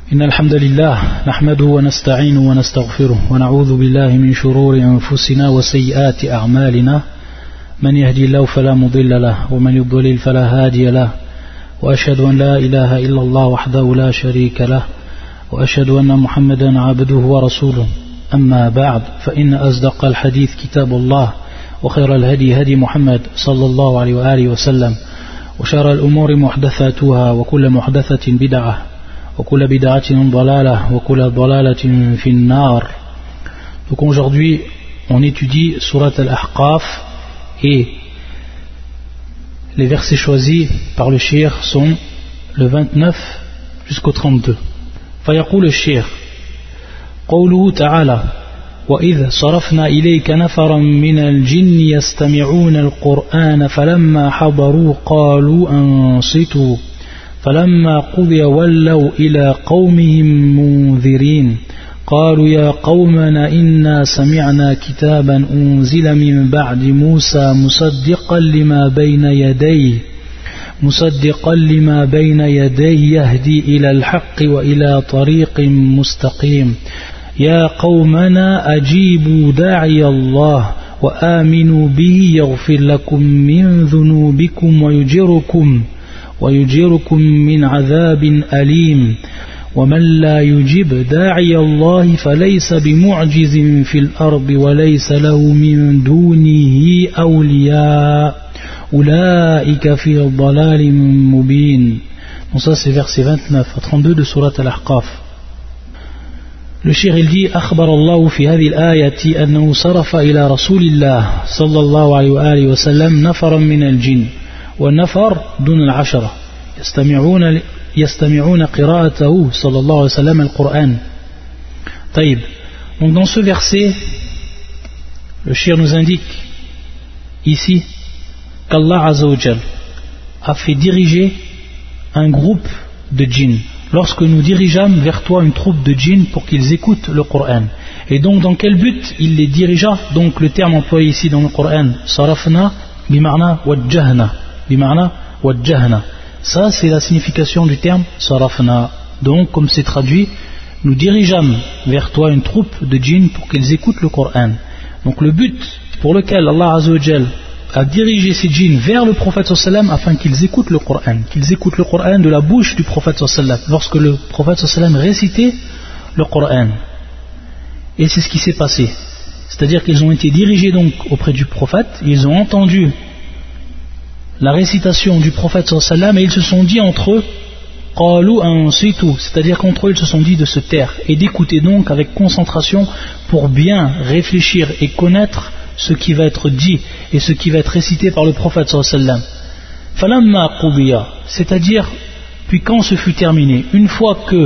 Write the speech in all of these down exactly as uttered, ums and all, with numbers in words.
إن الحمد لله نحمده ونستعينه ونستغفره ونعوذ بالله من شرور أنفسنا وسيئات أعمالنا من يهدي الله فلا مضل له ومن يضلل فلا هادي له وأشهد أن لا إله إلا الله وحده لا شريك له وأشهد أن محمدا عبده ورسوله أما بعد فإن أصدق الحديث كتاب الله وخير الهدي هدي محمد صلى الله عليه وآله وسلم وشر الأمور محدثاتها وكل محدثة بدعة وكل بدعة ضلالة وكل ضلالة في النار. Donc aujourd'hui on étudie Surat Al-Ahqaf et les versets choisis par le cheikh sont le vingt-neuf jusqu'au trente-deux. فيقول الشيخ قوله تعالى وإذ صرفنا إليك نفرا من الجن يستمعون القرآن فلما حضروا قالوا أنصتوا فلما قضي ولوا إلى قومهم منذرين قالوا يا قومنا إنا سمعنا كتابا أنزل من بعد موسى مصدقا لما بين يديه مصدقا لما بين يديه يهدي إلى الحق وإلى طريق مستقيم يا قومنا أجيبوا داعي الله وآمنوا به يغفر لكم من ذنوبكم ويجركم ويجركم من عذاب أليم ومن لا يجب داعي الله فليس بمعجز في الأرض وليس له من دونه أولياء أولئك في ضلال مبين. Donc ça c'est verset vingt-neuf à trente-deux de Surat Al-Ahqaf. Le cheikh il dit أخبر الله في هذه الآية أنه صرف إلى رسول الله صلى الله عليه وآله وسلم نفرا من الجن والنفر دون العشرة يستمعون يستمعون قراءته صلى الله عليه وسلم القرآن. طيب. Donc dans ce verset le cheikh nous indique ici qu'Allah Azza wa Jal a fait diriger un groupe de djinns lorsque nous dirigeâmes vers toi une troupe de djinns pour qu'ils écoutent le Coran. Et donc dans quel but il les dirigea? Donc le terme employé ici dans le Coran, sarafna bima'na wajjahna, bima'na wajjahna. Ça c'est la signification du terme sarafna. Donc comme c'est traduit, nous dirigeâmes vers toi une troupe de djinns pour qu'ils écoutent le Coran. Donc le but pour lequel Allah Azza wa Jal a dirigé ces djinns vers le prophète sallam afin qu'ils écoutent le Coran, qu'ils écoutent le Coran de la bouche du prophète sallam lorsque le prophète sallam récitait le Coran. Et c'est ce qui s'est passé, c'est-à-dire qu'ils ont été dirigés donc auprès du prophète, ils ont entendu la récitation du prophète sallam et ils se sont dit entre eux qalu ansitu, c'est-à-dire qu'entre eux ils se sont dit de se taire et d'écouter donc avec concentration pour bien réfléchir et connaître ce qui va être dit et ce qui va être récité par le prophète sallam. Falamma qudiya, c'est-à-dire puis quand ce fut terminé, une fois que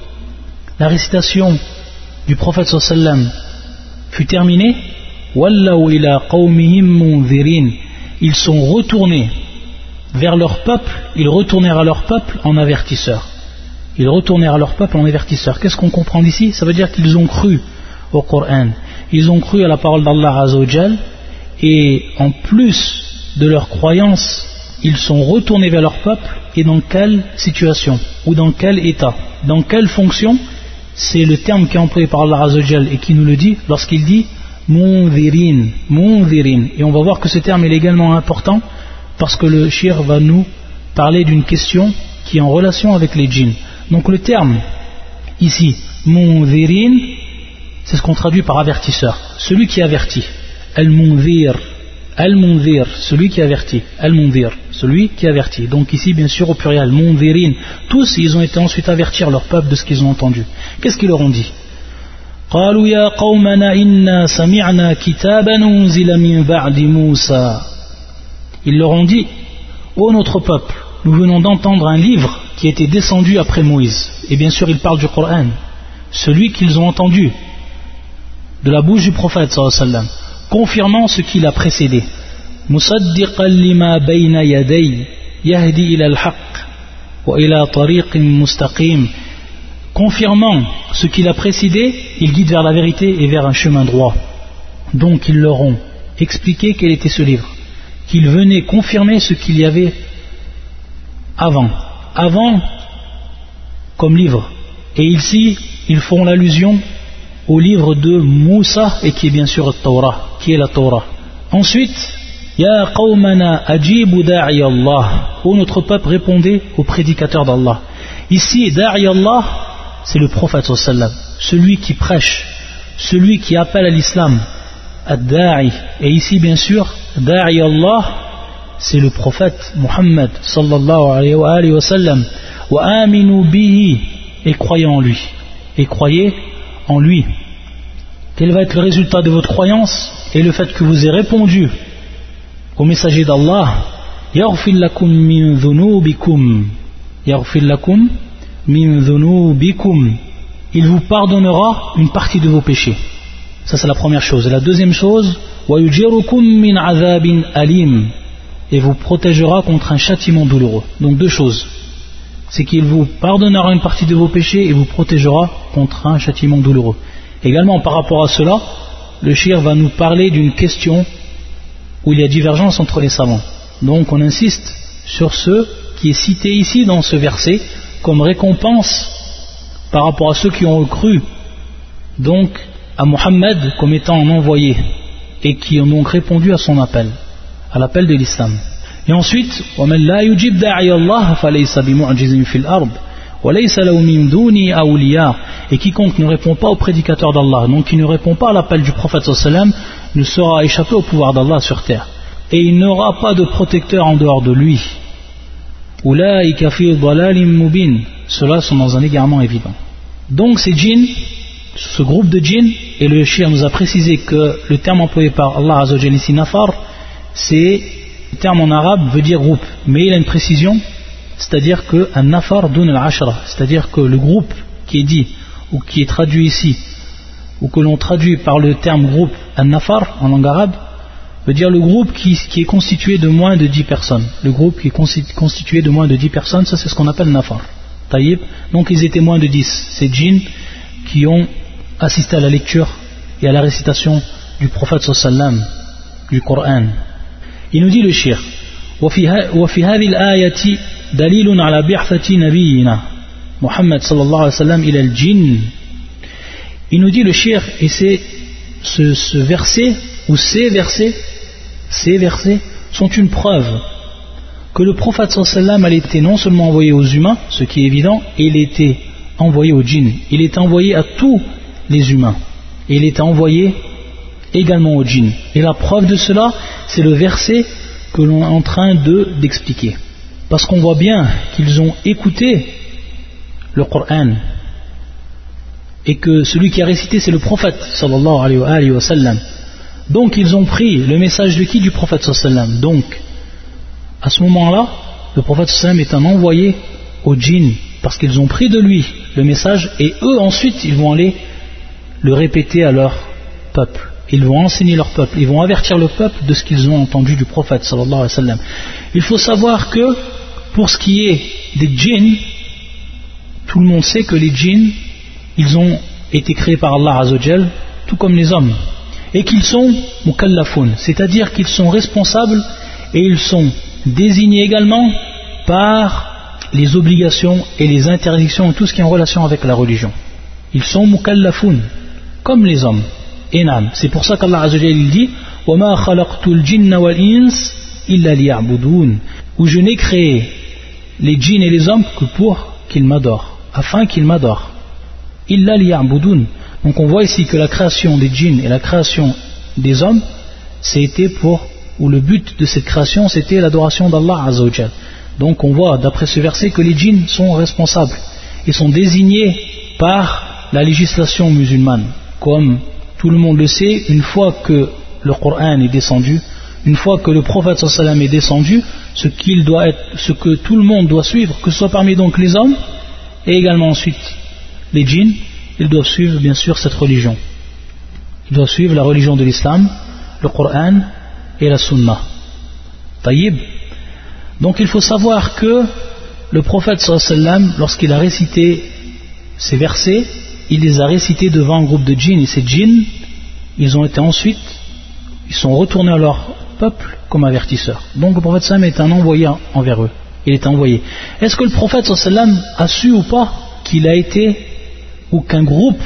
la récitation du prophète sallam fut terminée, wallaw ila qawmihim munzirin, ils sont retournés vers leur peuple, ils retournèrent à leur peuple en avertisseurs. Ils retournèrent à leur peuple en avertisseurs. Qu'est-ce qu'on comprend d'ici? Ça veut dire qu'ils ont cru au Coran, ils ont cru à la parole d'Allah Azza wa Jal, et en plus de leur croyance, ils sont retournés vers leur peuple. Et dans quelle situation ou dans quel état, dans quelle fonction? C'est le terme qui est employé par Allah Azza wa Jal et qui nous le dit lorsqu'il dit munzirin, munzirin. Et on va voir que ce terme est également important parce que le cheikh va nous parler d'une question qui est en relation avec les djinns. Donc le terme ici munzirin, c'est ce qu'on traduit par avertisseur, celui qui avertit. Al-Munzir, Al-Munzir, celui qui avertit. Al-Munzir, celui qui avertit. Donc ici bien sûr au pluriel, Munzirin. Tous ils ont été ensuite avertir leur peuple de ce qu'ils ont entendu. Qu'est-ce qu'ils leur ont dit? قالوا يا قومنا إنا سمعنا كتابا أنزل من بعد موسى. Ils leur ont dit, ô notre peuple, nous venons d'entendre un livre qui était descendu après Moïse. Et bien sûr ils parlent du Coran, celui qu'ils ont entendu de la bouche du prophète sallallahu alayhi wa sallam, confirmant ce qui l'a précédé. Musaddiqan lima bayna yaday yahdi ila al-haqq wa ila tariqin mustaqim. Confirmant ce qui l'a précédé, il guide vers la vérité et vers un chemin droit. Donc ils leur ont expliqué quel était ce livre, qu'il venait confirmer ce qu'il y avait avant. Avant comme livre, Et ici, ils font l'allusion au livre de Moussa, et qui est bien sûr le Torah, qui est la Torah. Ensuite, Ya qawmana ajibu da'i Allah. Ô notre peuple, répondez au prédicateur d'Allah. Ici, da'i Allah, c'est le prophète sallallahu alayhi wa sallam, celui qui prêche, celui qui appelle à l'islam, ad-da'i. Et ici, bien sûr, da'i Allah, c'est le prophète Muhammad sallallahu alayhi wa sallam. Wa aminu bihi, et croyez en lui. Et croyez en lui. Quel va être le résultat de votre croyance et le fait que vous ayez répondu au messager d'Allah? Yaghfir lakum min dhunubikum. Yaghfir lakum min dhunubikum. Il vous pardonnera une partie de vos péchés. Ça, c'est la première chose. Et la deuxième chose, wa yujirukum min azabin alim. Et vous protégera contre un châtiment douloureux. Donc deux choses. C'est qu'il vous pardonnera une partie de vos péchés et vous protégera contre un châtiment douloureux. Également, par rapport à cela, le shir va nous parler d'une question où il y a divergence entre les savants. Donc on insiste sur ce qui est cité ici dans ce verset comme récompense par rapport à ceux qui ont cru donc à Mohammed comme étant un envoyé et qui ont donc répondu à son appel, à l'appel de l'islam. Et ensuite, وَمَنْ لَا يُجِبْ دَاعِيَ اللَّهِ فَلَيْسَ بِمُعْجِزٍ فِي الْأَرْضِ وَلَيْسَ لَهُ مِنْ دُونِهِ أَوْلِيَاءٌ. Et quiconque ne répond pas au prédicateur d'Allah, donc qui ne répond pas à l'appel du prophète sallallahu alayhi wa sallam, ne sera échappé au pouvoir d'Allah sur terre. Et il n'aura pas de protecteur en dehors de lui. أُولَٰئِكَ فِي ضَلَالٍ مُبِينٍ. Ceux-là sont dans un égarement évident. Donc ces djinns, ce groupe de djinns, et le shir nous a précisé que le terme employé par Allah Azza wa Jalla ici, nafar, c'est le terme en arabe veut dire groupe, mais il a une précision, c'est-à-dire que un nafar dun al-ashra, c'est-à-dire que le groupe qui est dit ou qui est traduit ici, ou que l'on traduit par le terme groupe un nafar en langue arabe, veut dire le groupe qui, qui est constitué de moins de dix personnes. Le groupe qui est constitué de moins de dix personnes, ça c'est ce qu'on appelle nafar. Taïb. Donc ils étaient moins de dix, ces djinns qui ont assisté à la lecture et à la récitation du prophète sallallahu alayhi wa sallam, du Coran. Il nous dit le shir وفي هذه الآية دليل على بعثة نبينا محمد صلى الله عليه وسلم إلى الجن. Il nous dit le shir, et c'est ce, ce verset ou ces versets ces versets sont une preuve que le prophète sallallahu alayhi wa sallam a été non seulement envoyé aux humains, ce qui est évident, et il était envoyé aux djinns, il est envoyé à tous les humains et il est envoyé également aux djinns. Et la preuve de cela, c'est le verset que l'on est en train de, d'expliquer. Parce qu'on voit bien qu'ils ont écouté le Coran et que celui qui a récité c'est le prophète sallallahu alayhi wa sallam. Donc ils ont pris le message de qui? Du prophète sallallahu alayhi wa sallam. Donc à ce moment-là, le prophète sallallahu alayhi wa sallam est un envoyé aux djinns parce qu'ils ont pris de lui le message et eux ensuite ils vont aller le répéter à leur peuple. Ils vont enseigner leur peuple, ils vont avertir le peuple de ce qu'ils ont entendu du prophète sallallahu alayhi wa sallam. Il faut savoir que pour ce qui est des djinns, tout le monde sait que les djinns, ils ont été créés par Allah Azza wa Jal, tout comme les hommes, et qu'ils sont mukallafoun, c'est-à-dire qu'ils sont responsables et ils sont désignés également par les obligations et les interdictions et tout ce qui est en relation avec la religion. Ils sont mukallafoun, comme les hommes. Enam. C'est pour ça qu'Allah Azza wa Jalla dit وَمَا خَلَقْتُ الْجِنَّ وَالْإِنسَ إِلَّا لِيَعْبُدُونَ, où je n'ai créé les djinns et les hommes que pour qu'ils m'adorent, afin qu'ils m'adorent. إِلَّا لِيَعْبُدُونَ. Donc on voit ici que la création des djinns et la création des hommes, c'était pour, ou le but de cette création c'était l'adoration d'Allah Azza wa Jalla. Donc on voit d'après ce verset que les djinns sont responsables et sont désignés par la législation musulmane, comme tout le monde le sait. Une fois que le Coran est descendu, une fois que le prophète sallallahu alayhi wa sallam est descendu, ce qu'il doit être, ce que tout le monde doit suivre, que ce soit parmi donc les hommes et également ensuite les djinns, ils doivent suivre bien sûr cette religion. Ils doivent suivre la religion de l'islam, le Coran et la sunna. Taïb. Donc il faut savoir que le prophète sallallahu alayhi wa sallam, lorsqu'il a récité ces versets, il les a récités devant un groupe de djinns, et ces djinns, ils ont été ensuite, ils sont retournés à leur peuple comme avertisseurs. Donc le prophète sallam est un envoyé envers eux. Il est envoyé. Est-ce que le prophète sallam a su ou pas qu'il a été ou qu'un groupe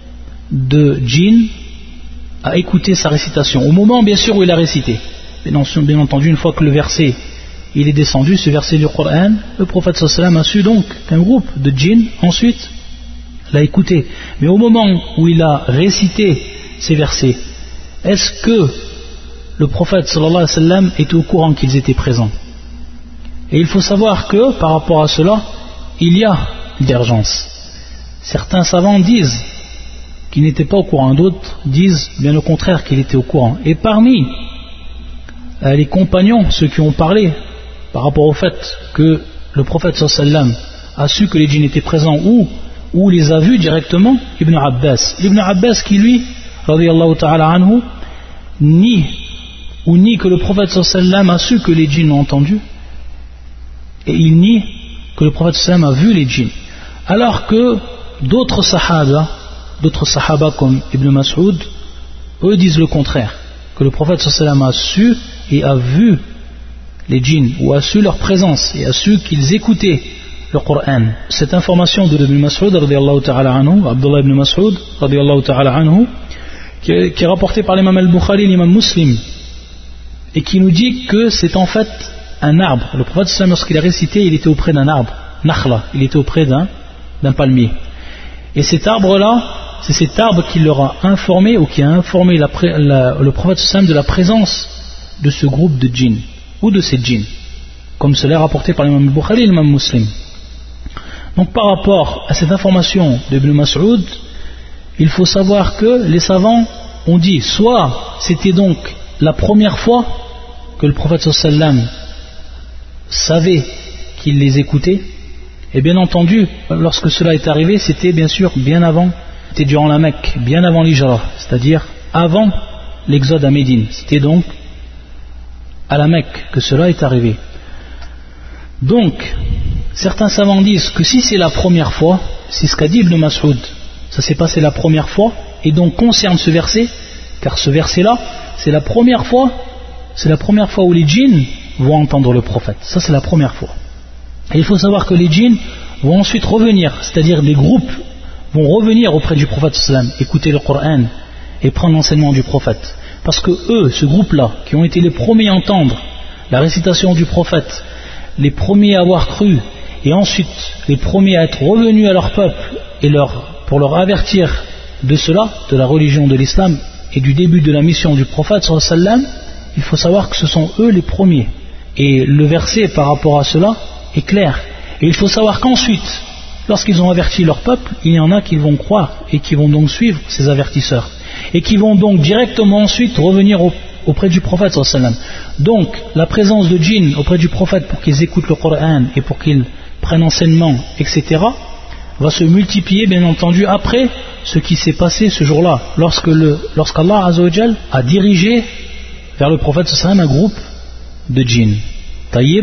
de djinns a écouté sa récitation. Au moment, bien sûr, où il a récité. Bien entendu, une fois que le verset il est descendu, ce verset du Coran, le prophète sallallahu alayhi wa sallam a su donc qu'un groupe de djinns ensuite l'a écouté. Mais au moment où il a récité ces versets, est-ce que le prophète sallallahu alayhi wa sallam était au courant qu'ils étaient présents? Et il faut savoir que par rapport à cela, il y a divergence. Certains savants disent qu'il n'était pas au courant, d'autres disent bien au contraire qu'il était au courant. Et parmi euh, les compagnons, ceux qui ont parlé par rapport au fait que le prophète sallallahu alayhi wa sallam a su que les djinns étaient présents ou, ou les a vus directement, Ibn Abbas. Ibn Abbas qui lui, radiyallahu ta'ala anhu, nie ou nie que le prophète sallallahu alayhi wa sallam a su que les djinns l'ont entendu, et il nie que le prophète sallallahu alayhi wa sallam a vu les djinns. Alors que d'autres sahaba, d'autres sahaba comme Ibn Mas'ud, eux disent le contraire, que le prophète sallallahu alayhi wa sallam a su et a vu les djinns, ou a su leur présence, et a su qu'ils écoutaient le Coran. Cette information de Ibn Mas'ud, radiyallahu ta'ala anhu, Abdullah ibn Mas'ud, radiyallahu ta'ala anhu, qui est, qui est rapporté par l'imam al-Bukhari et l'imam Muslim, et qui nous dit que c'est en fait un arbre. Le prophète sallallahu alayhi wa sallam, lorsqu'il a récité, il était auprès d'un arbre, Nakhla, il était auprès d'un, d'un palmier. Et cet arbre-là, c'est cet arbre qui leur a informé, ou qui a informé la, la, le prophète sallallahu alayhi wa sallam de la présence de ce groupe de djinns, ou de ces djinns, comme cela est rapporté par l'imam al-Bukhari et l'imam Muslim. Donc par rapport à cette information d'Ibn Mas'ud, il faut savoir que les savants ont dit, soit c'était donc la première fois que le prophète sallallahu alayhi wa sallam savait qu'il les écoutait, et bien entendu, lorsque cela est arrivé, c'était bien sûr bien avant, c'était durant la Mecque, bien avant l'Hijra, c'est-à-dire avant l'exode à Médine. C'était donc à la Mecque que cela est arrivé. Donc, certains savants disent que si c'est la première fois, c'est ce qu'a dit Ibn Mas'ud, ça s'est passé la première fois, et donc concerne ce verset, car ce verset-là, c'est la première fois, c'est la première fois où les djinns vont entendre le prophète. Ça, c'est la première fois. Et il faut savoir que les djinns vont ensuite revenir, c'est-à-dire les groupes vont revenir auprès du prophète sallam, écouter le Coran et prendre l'enseignement du prophète. Parce que eux, ce groupe-là, qui ont été les premiers à entendre la récitation du prophète, les premiers à avoir cru, et ensuite les premiers à être revenus à leur peuple et leur, pour leur avertir de cela, de la religion de l'islam et du début de la mission du prophète sallallahu alayhi wa sallam, il faut savoir que ce sont eux les premiers. Et le verset par rapport à cela est clair. Et il faut savoir qu'ensuite, lorsqu'ils ont averti leur peuple, il y en a qui vont croire et qui vont donc suivre ces avertisseurs. Et qui vont donc directement ensuite revenir au, auprès du prophète sallallahu alayhi wa sallam. Donc la présence de djinns auprès du prophète pour qu'ils écoutent le Coran et pour qu'ils prennent enseignement, et cetera, va se multiplier bien entendu après ce qui s'est passé ce jour-là, lorsque le, lorsqu'Allah Azza wa Jal a dirigé vers le prophète sallallahu alayhi wa sallam un groupe de djinns. Taïb.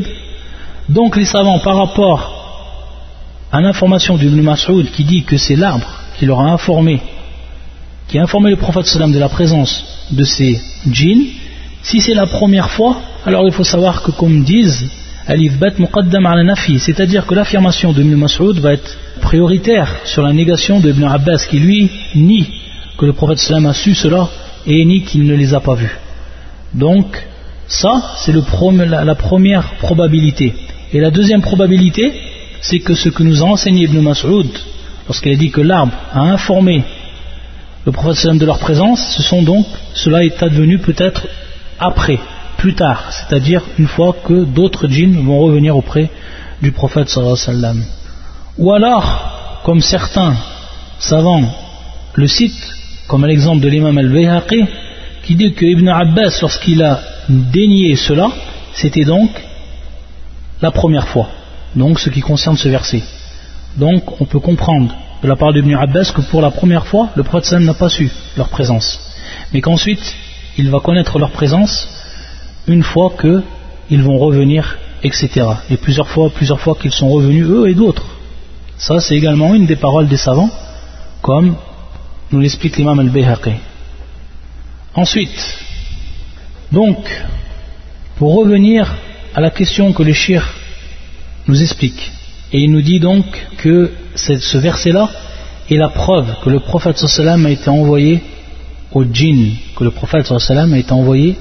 Donc les savants, par rapport à l'information d'Ibn Mas'ud qui dit que c'est l'arbre qui leur a informé, qui a informé le prophète sallallahu alayhi wa sallam de la présence de ces djinns, si c'est la première fois, alors il faut savoir que, comme disent al-ithbat muqaddam ala nafi, c'est-à-dire que l'affirmation de Ibn Mas'ud va être prioritaire sur la négation de Ibn Abbas qui lui nie que le prophète sallallahu alayhi wa sallam a su cela et nie qu'il ne les a pas vus. Donc ça c'est le prom- la, la première probabilité. Et la deuxième probabilité, c'est que ce que nous a enseigné Ibn Mas'ud lorsqu'il a dit que l'arbre a informé le prophète sallallahu alayhi wa sallam de leur présence, ce sont donc, cela est advenu peut-être après, plus tard, c'est-à-dire une fois que d'autres djinns vont revenir auprès du prophète sallallahu alayhi wa sallam. Ou alors, comme certains savants le citent, comme l'exemple de l'imam al-Bayhaqi, qui dit que Ibn Abbas, lorsqu'il a dénié cela, c'était donc la première fois, donc ce qui concerne ce verset. Donc on peut comprendre de la part d'Ibn Abbas que pour la première fois, le prophète sallam n'a pas su leur présence, mais qu'ensuite il va connaître leur présence une fois qu'ils vont revenir, et cetera. Et plusieurs fois, plusieurs fois qu'ils sont revenus, eux et d'autres. Ça c'est également une des paroles des savants, comme nous l'explique l'imam al-Bayhaqi. Ensuite, donc, pour revenir à la question que le shir nous explique, et il nous dit donc que ce verset-là est la preuve que le prophète sallallahu alayhi wa sallam a été envoyé au djinn, que le prophète sallallahu alayhi wa sallam a été envoyé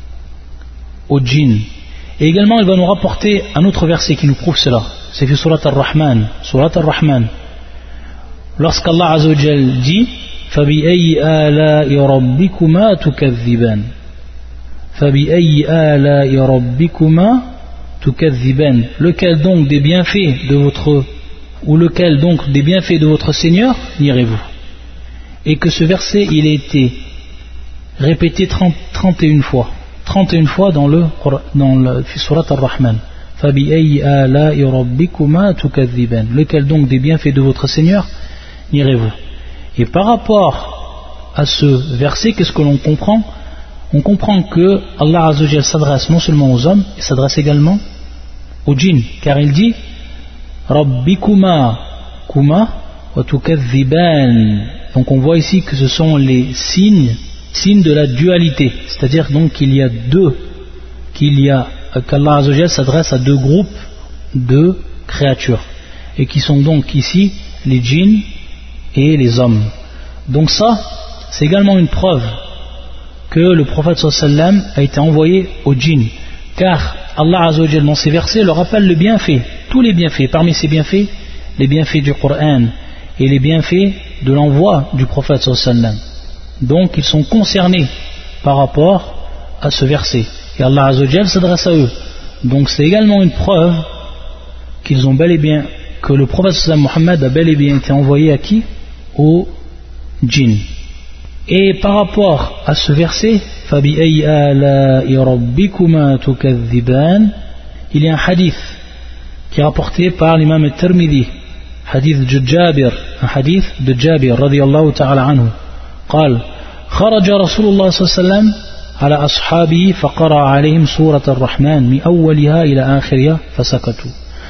au djinn. Et également il va nous rapporter un autre verset qui nous prouve cela, c'est que surat Ar-Rahman, surat Ar-Rahman, lorsqu'Allah Azza wa Jal dit فَبِأَيِّ آلَاءِ رَبِّكُمَا تُكَذِّبَانِ فَبِأَيِّ آلَاءِ رَبِّكُمَا تُكَذِّبَانِ, lequel donc des bienfaits de votre ou lequel donc des bienfaits de votre Seigneur nierez-vous? Et que ce verset il a été répété trente, trente et une fois trente et une fois dans le dans le surat Ar-Rahman. فَبِأَيِّ آلَاءِ رَبِّكُمَا تُكَذِّبَانِ, lequel donc des bienfaits de votre Seigneur nierez-vous? Et par rapport à ce verset, qu'est-ce que l'on comprend? On comprend que Allah Azza wa Jalla s'adresse non seulement aux hommes, il s'adresse également aux djinns, car il dit Rabbikuma kuma wa tukadhiban. Donc on voit ici que ce sont les signes, signes de la dualité, c'est-à-dire donc qu'il y a deux, qu'il y a qu'Allah Azza wa Jalla s'adresse à deux groupes de créatures, et qui sont donc ici les djinns et les hommes. Donc ça, c'est également une preuve que le prophète sallallahu alayhi wa sallam a été envoyé aux djinns, car Allah Azza wa Jalla dans ces versets leur rappelle le bienfait, tous les bienfaits, parmi ces bienfaits, les bienfaits du Coran et les bienfaits de l'envoi du prophète sallallahu alayhi wa sallam. Donc ils sont concernés par rapport à ce verset, et Allah Azza wa Jalla s'adresse à eux. Donc c'est également une preuve qu'ils ont bel et bien, que le prophète sallallahu alayhi wa sallam Muhammad a bel et bien été envoyé à qui? Aux djinns. Et par rapport à ce verset, فَبِأَيِّ آلَاءِ رَبِّكُمَا تُكَذِّبَانِ, il y a un hadith qui est rapporté par l'imam al-Tirmidhi, hadith de Jabir, un hadith de Jabir radiyallahu ta'ala anhu, قال خرج رسول الله صلى الله عليه وسلم على أصحابه فقرأ عليهم سورة الرحمن من أولها إلى آخرها فسكتوا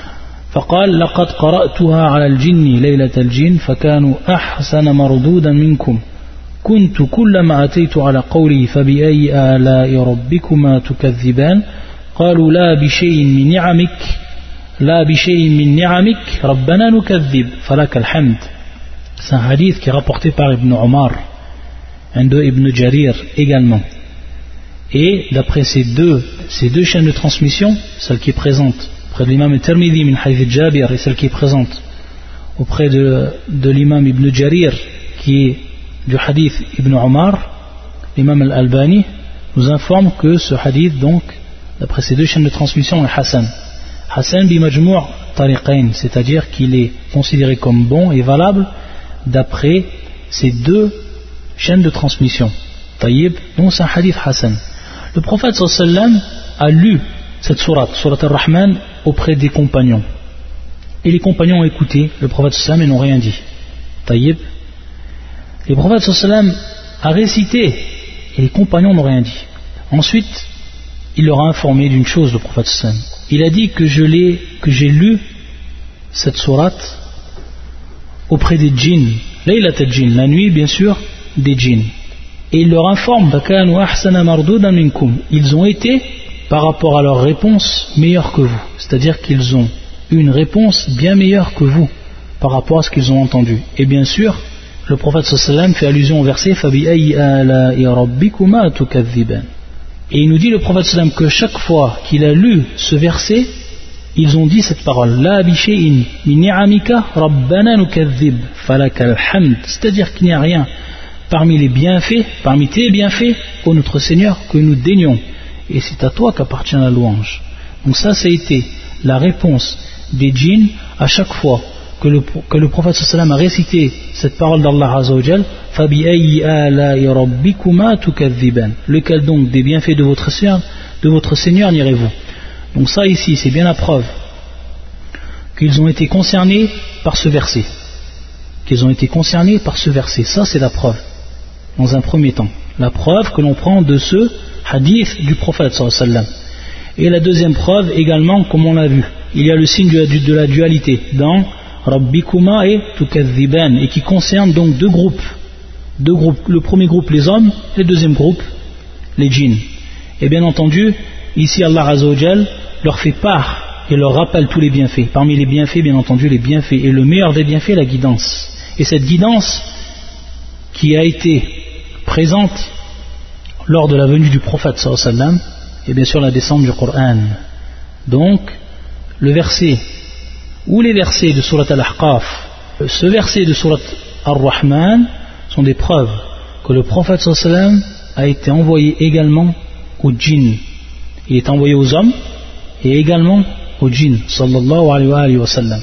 فقال لقد قرأتها على الجن ليلة الجن فكانوا أحسن مردودا منكم كنت كلما أتيت على قوله فبأي آلاء ربكما تكذبان قالوا لا بشيء من نعمك لا بشيء من نعمك ربنا نكذب فلك الحمد. C'est un hadith qui est rapporté par Ibn Omar, un de Ibn Jarir également. Et d'après ces deux, ces deux chaînes de transmission, celle qui est présente auprès de l'imam al-Tirmidhi min hadith Jabir et celle qui est présente auprès de, de l'imam Ibn Jarir qui est du hadith Ibn Omar, l'imam al-Albani nous informe que ce hadith, donc d'après ces deux chaînes de transmission, est Hassan Hassan bi majmou' tariqain, c'est-à-dire qu'il est considéré comme bon et valable d'après ces deux chaînes de transmission. Taïb, donc c'est un hadith Hassan. Le prophète sallallahu alayhi wa sallam a lu cette sourate, sourate Ar-Rahman, auprès des compagnons. Et les compagnons ont écouté le prophète sallallahu alayhi wa sallam et n'ont rien dit. Taïb. Le prophète sallallahu alayhi wa sallam a récité et les compagnons n'ont rien dit. Ensuite, il leur a informé d'une chose, le prophète sallallahu alayhi wa sallam. Il a dit que je l'ai, que j'ai lu cette sourate auprès des djinns, laylat al-djinn, la nuit bien sûr des djinns. Et il leur informe, ils ont été, par rapport à leur réponse, meilleurs que vous. C'est-à-dire qu'ils ont une réponse bien meilleure que vous, par rapport à ce qu'ils ont entendu. Et bien sûr, le prophète sallallahu alayhi wa sallam fait allusion au verset فَبِأَيِّ آلَاءِ رَبِّكُمَا تُكَذِّبَانِ. Et il nous dit, le prophète sallallahu alayhi wa sallam, que chaque fois qu'il a lu ce verset, ils ont dit cette parole, La bishay'in min ni'amika rabbana nukadhib falakal hamd. C'est-à-dire qu'il n'y a rien parmi les bienfaits, parmi tes bienfaits, ô notre Seigneur, que nous daignons. Et c'est à toi qu'appartient la louange. Donc ça, ça a été la réponse des djinns à chaque fois que le, que le prophète sallallahu alayhi wa sallam a récité cette parole d'Allah Azza wa Jal, Fabi'ayyi ala'i rabbikuma tukadhiban. Lequel donc des bienfaits de votre Seigneur, de votre Seigneur nirez-vous? Donc ça ici, c'est bien la preuve qu'ils ont été concernés par ce verset. Qu'ils ont été concernés par ce verset. Ça, c'est la preuve. Dans un premier temps, la preuve que l'on prend de ce hadith du prophète sallallahu alayhi wa sallam. Et la deuxième preuve également, comme on l'a vu, il y a le signe de la dualité dans Rabbikuma et Tukadhiban, et qui concerne donc deux groupes. Deux groupes. Le premier groupe les hommes, et le deuxième groupe les djinns. Et bien entendu, ici Allah Azza wa Jal leur fait part et leur rappelle tous les bienfaits. Parmi les bienfaits, bien entendu, les bienfaits. Et le meilleur des bienfaits, la guidance. Et cette guidance qui a été présente lors de la venue du prophète sallallahu alayhi wa sallam et bien sûr la descente du Coran. Donc le verset ou les versets de Surat Al-Ahqaf, ce verset de Surat Ar-Rahman sont des preuves que le prophète sallallahu alayhi wa sallam a été envoyé également aux djinns. Il est envoyé aux hommes et également aux djinns sallallahu alayhi wa sallam.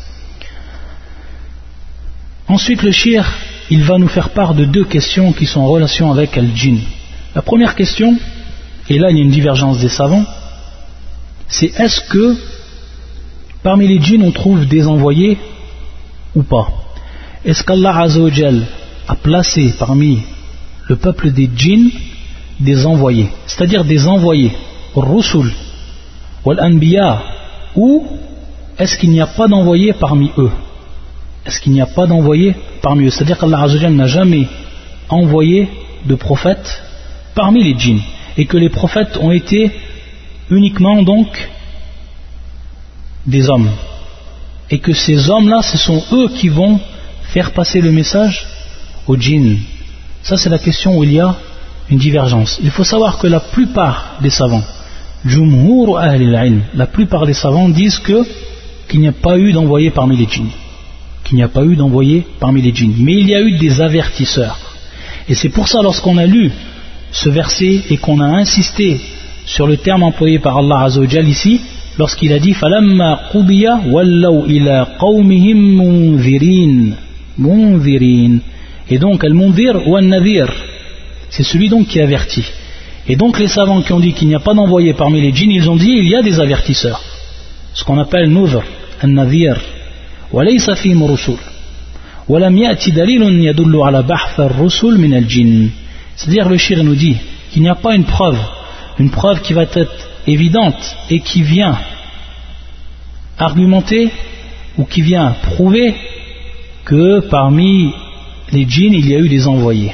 Ensuite le shir, il va nous faire part de deux questions qui sont en relation avec Al-Jinn. La première question, et là il y a une divergence des savants, c'est est-ce que parmi les djinns on trouve des envoyés ou pas? Est-ce qu'Allah Azza wa Jal a placé parmi le peuple des djinns des envoyés, c'est-à-dire des envoyés, Rusul, Wal-Anbiya, ou est-ce qu'il n'y a pas d'envoyés parmi eux? Est-ce qu'il n'y a pas d'envoyés parmi eux? C'est-à-dire qu'Allah Azza wa Jal n'a jamais envoyé de prophètes parmi les djinns, et que les prophètes ont été uniquement donc des hommes, et que ces hommes-là, ce sont eux qui vont faire passer le message aux djinns. Ça c'est la question où il y a une divergence. Il faut savoir que la plupart des savants, Jumhur Ahl al-Ilm, la plupart des savants disent que qu'il n'y a pas eu d'envoyés parmi les djinns, qu'il n'y a pas eu d'envoyés parmi les djinns, mais il y a eu des avertisseurs. Et c'est pour ça, lorsqu'on a lu ce verset et qu'on a insisté sur le terme employé par Allah Azza wa Jal ici, lorsqu'il a dit falamma qudiya wallaw ila qawmihim munzirin, munzirin, et donc al-munzir ou al-nadhir, c'est celui donc qui avertit. Et donc les savants qui ont dit qu'il n'y a pas d'envoyé parmi les djinns, ils ont dit il y a des avertisseurs, ce qu'on appelle nuzr, al-nadhir, wa laysa fihim rusul wa lam ya'ti dalilun yadullu ala bahth ar-rusul min al-jinn. C'est-à-dire le shir nous dit qu'il n'y a pas une preuve, une preuve qui va être évidente et qui vient argumenter ou qui vient prouver que parmi les djinns il y a eu des envoyés.